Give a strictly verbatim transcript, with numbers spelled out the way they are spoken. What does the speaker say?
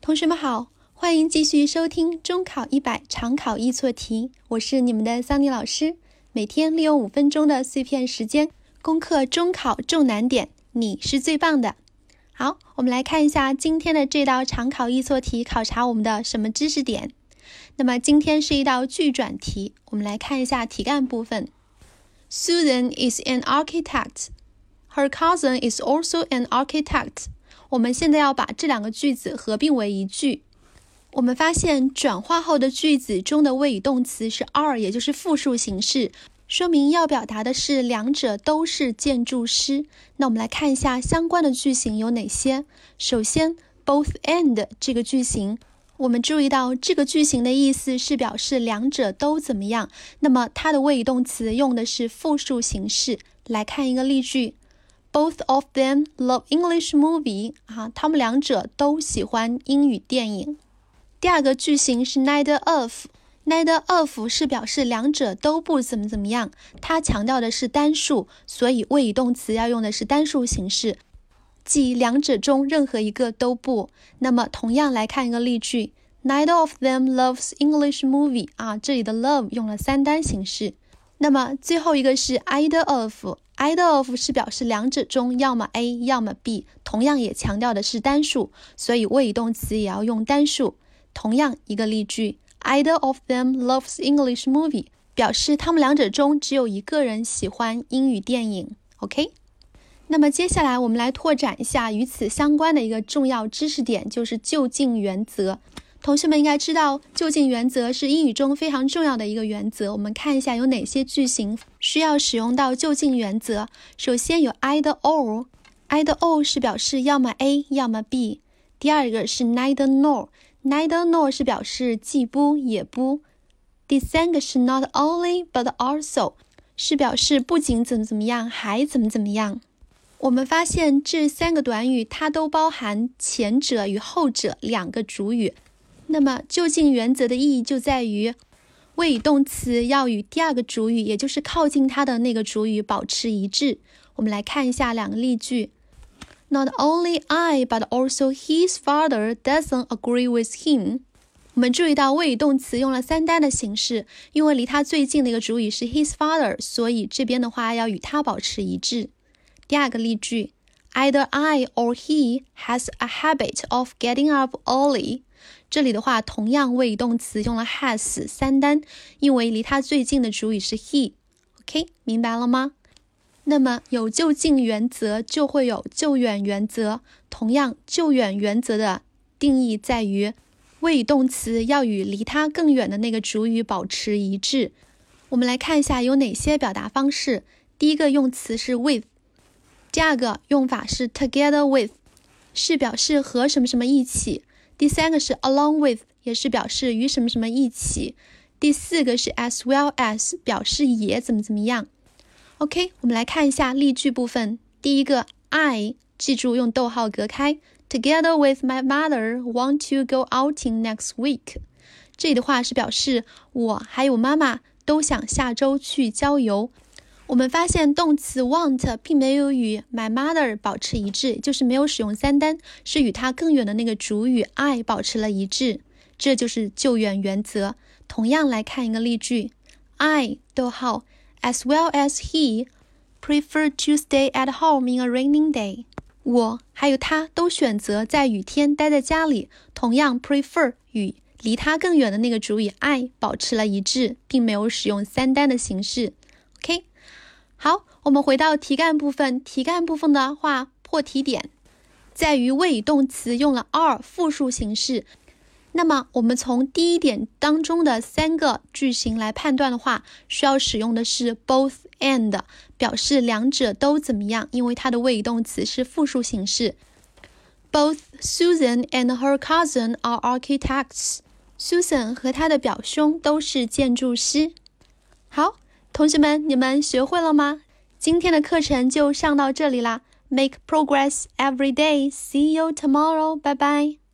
同学们好，欢迎继续收听中考一百常考易错题，我是你们的桑尼老师。每天利用五分钟的碎片时间，攻克中考重难点，你是最棒的。好，我们来看一下今天的这道常考易错题考察我们的什么知识点。那么今天是一道句转题，我们来看一下题干部分。Susan is an architect. Her cousin is also an architect. 我们现在要把这两个句子合并为一句。我们发现转化后的句子中的谓语动词是 are， 也就是复数形式，说明要表达的是两者都是建筑师。那我们来看一下相关的句型有哪些。首先 both and 这个句型，我们注意到这个句型的意思是表示两者都怎么样，那么它的谓语动词用的是复数形式。来看一个例句， Both of them love English movie. 啊，他们两者都喜欢英语电影。第二个句型是 neither of. neither of 是表示两者都不怎么怎么样，它强调的是单数，所以谓语动词要用的是单数形式，即两者中任何一个都不。那么同样来看一个例句， Neither of them loves English movie. 啊，这里的 love 用了三单形式。那么最后一个是 either of. either of 是表示两者中要么 A 要么 B， 同样也强调的是单数，所以谓语动词也要用单数。同样一个例句， Either of them loves English movie. 表示他们两者中只有一个人喜欢英语电影。 OK，那么接下来我们来拓展一下与此相关的一个重要知识点，就是就近原则。同学们应该知道，就近原则是英语中非常重要的一个原则。我们看一下有哪些句型需要使用到就近原则。首先有 either or. either or 是表示要么 A 要么 B。 第二个是 neither nor. neither nor 是表示既不也不。第三个是 not only but also， 是表示不仅怎么怎么样还怎么怎么样。我们发现这三个短语它都包含前者与后者两个主语。那么就近原则的意义就在于谓语动词要与第二个主语，也就是靠近它的那个主语保持一致。我们来看一下两个例句， Not only I but also his father doesn't agree with him. 我们注意到谓语动词用了三单的形式，因为离他最近的一个主语是 his father， 所以这边的话要与他保持一致。第二个例句， Either I or he has a habit of getting up early. 这里的话同样谓语动词用了 has 三单，因为离他最近的主语是 he。 OK， 明白了吗？那么有就近原则就会有就远原则，同样就远原则的定义在于谓语动词要与离它更远的那个主语保持一致。我们来看一下有哪些表达方式。第一个用词是 with， 第二个用法是 together with， 是表示和什么什么一起。第三个是 along with， 也是表示与什么什么一起。第四个是 as well as， 表示也怎么怎么样。 OK， 我们来看一下例句部分。第一个 I， 记住用逗号隔开， Together with my mother want to go outing next week. 这里的话是表示我还有妈妈都想下周去郊游。我们发现动词 want 并没有与 my mother 保持一致，就是没有使用三单，是与它更远的那个主语 I 保持了一致，这就是就远原则。同样来看一个例句， I 逗号 as well as he prefer to stay at home in a raining day. 我还有他都选择在雨天待在家里，同样 prefer 与离他更远的那个主语 I 保持了一致，并没有使用三单的形式。 OK，好，我们回到题干部分。题干部分的话，破题点在于谓语动词用了 are 复数形式。那么我们从第一点当中的三个句型来判断的话，需要使用的是 both and， 表示两者都怎么样，因为它的谓语动词是复数形式。 Both Susan and her cousin are architects. Susan 和她的表兄都是建筑师。好，同学们，你们学会了吗？今天的课程就上到这里啦。Make progress every day. See you tomorrow. Bye bye.